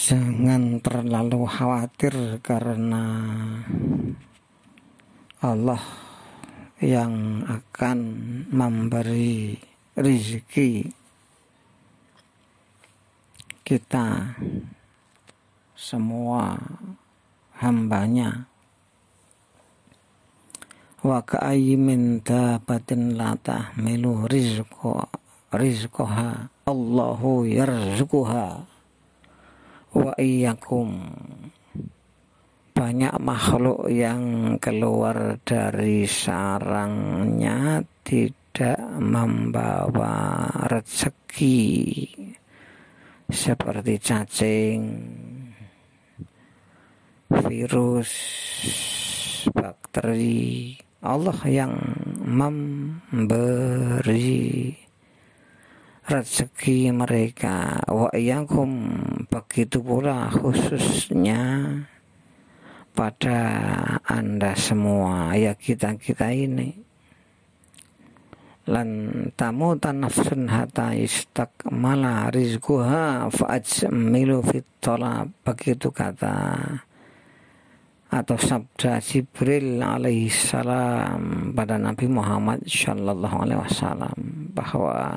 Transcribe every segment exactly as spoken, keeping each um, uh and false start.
Jangan terlalu khawatir karena Allah yang akan memberi rezeki kita semua hambanya. Wa ka'ayyin min dabbatin la tahmilu rizqa rizqaha Allahu yarzuquha wa iyyakum. Banyak makhluk yang keluar dari sarangnya tidak membawa rezeki, seperti cacing, virus, bakteri. Allah yang memberi rezeki mereka. Wa iyyakum, begitu pula khususnya pada Anda semua, ya kita-kita ini. Lan tamutan nafsun hatta istakmala rizquha fa'ajmilu fit talab, begitu kata atau sabda Jibril alaihi salam pada Nabi Muhammad sallallahu alaihi wasallam bahwa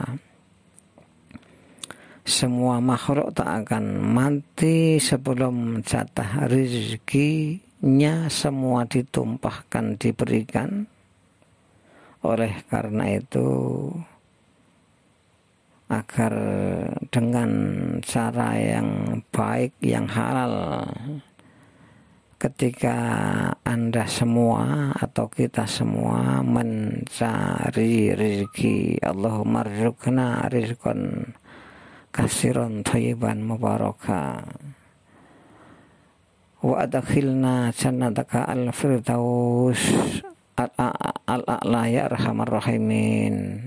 semua makhluk tak akan mati sebelum jatah rezekinya semua ditumpahkan, diberikan. Oleh karena itu, agar dengan cara yang baik, yang halal, ketika Anda semua atau kita semua mencari rezeki, Allahumma rzuqna rizqan kasiron thayyiban mubaraka wa adkhilna jannataka al-firdaus al-a'la ya arhamar rahimin.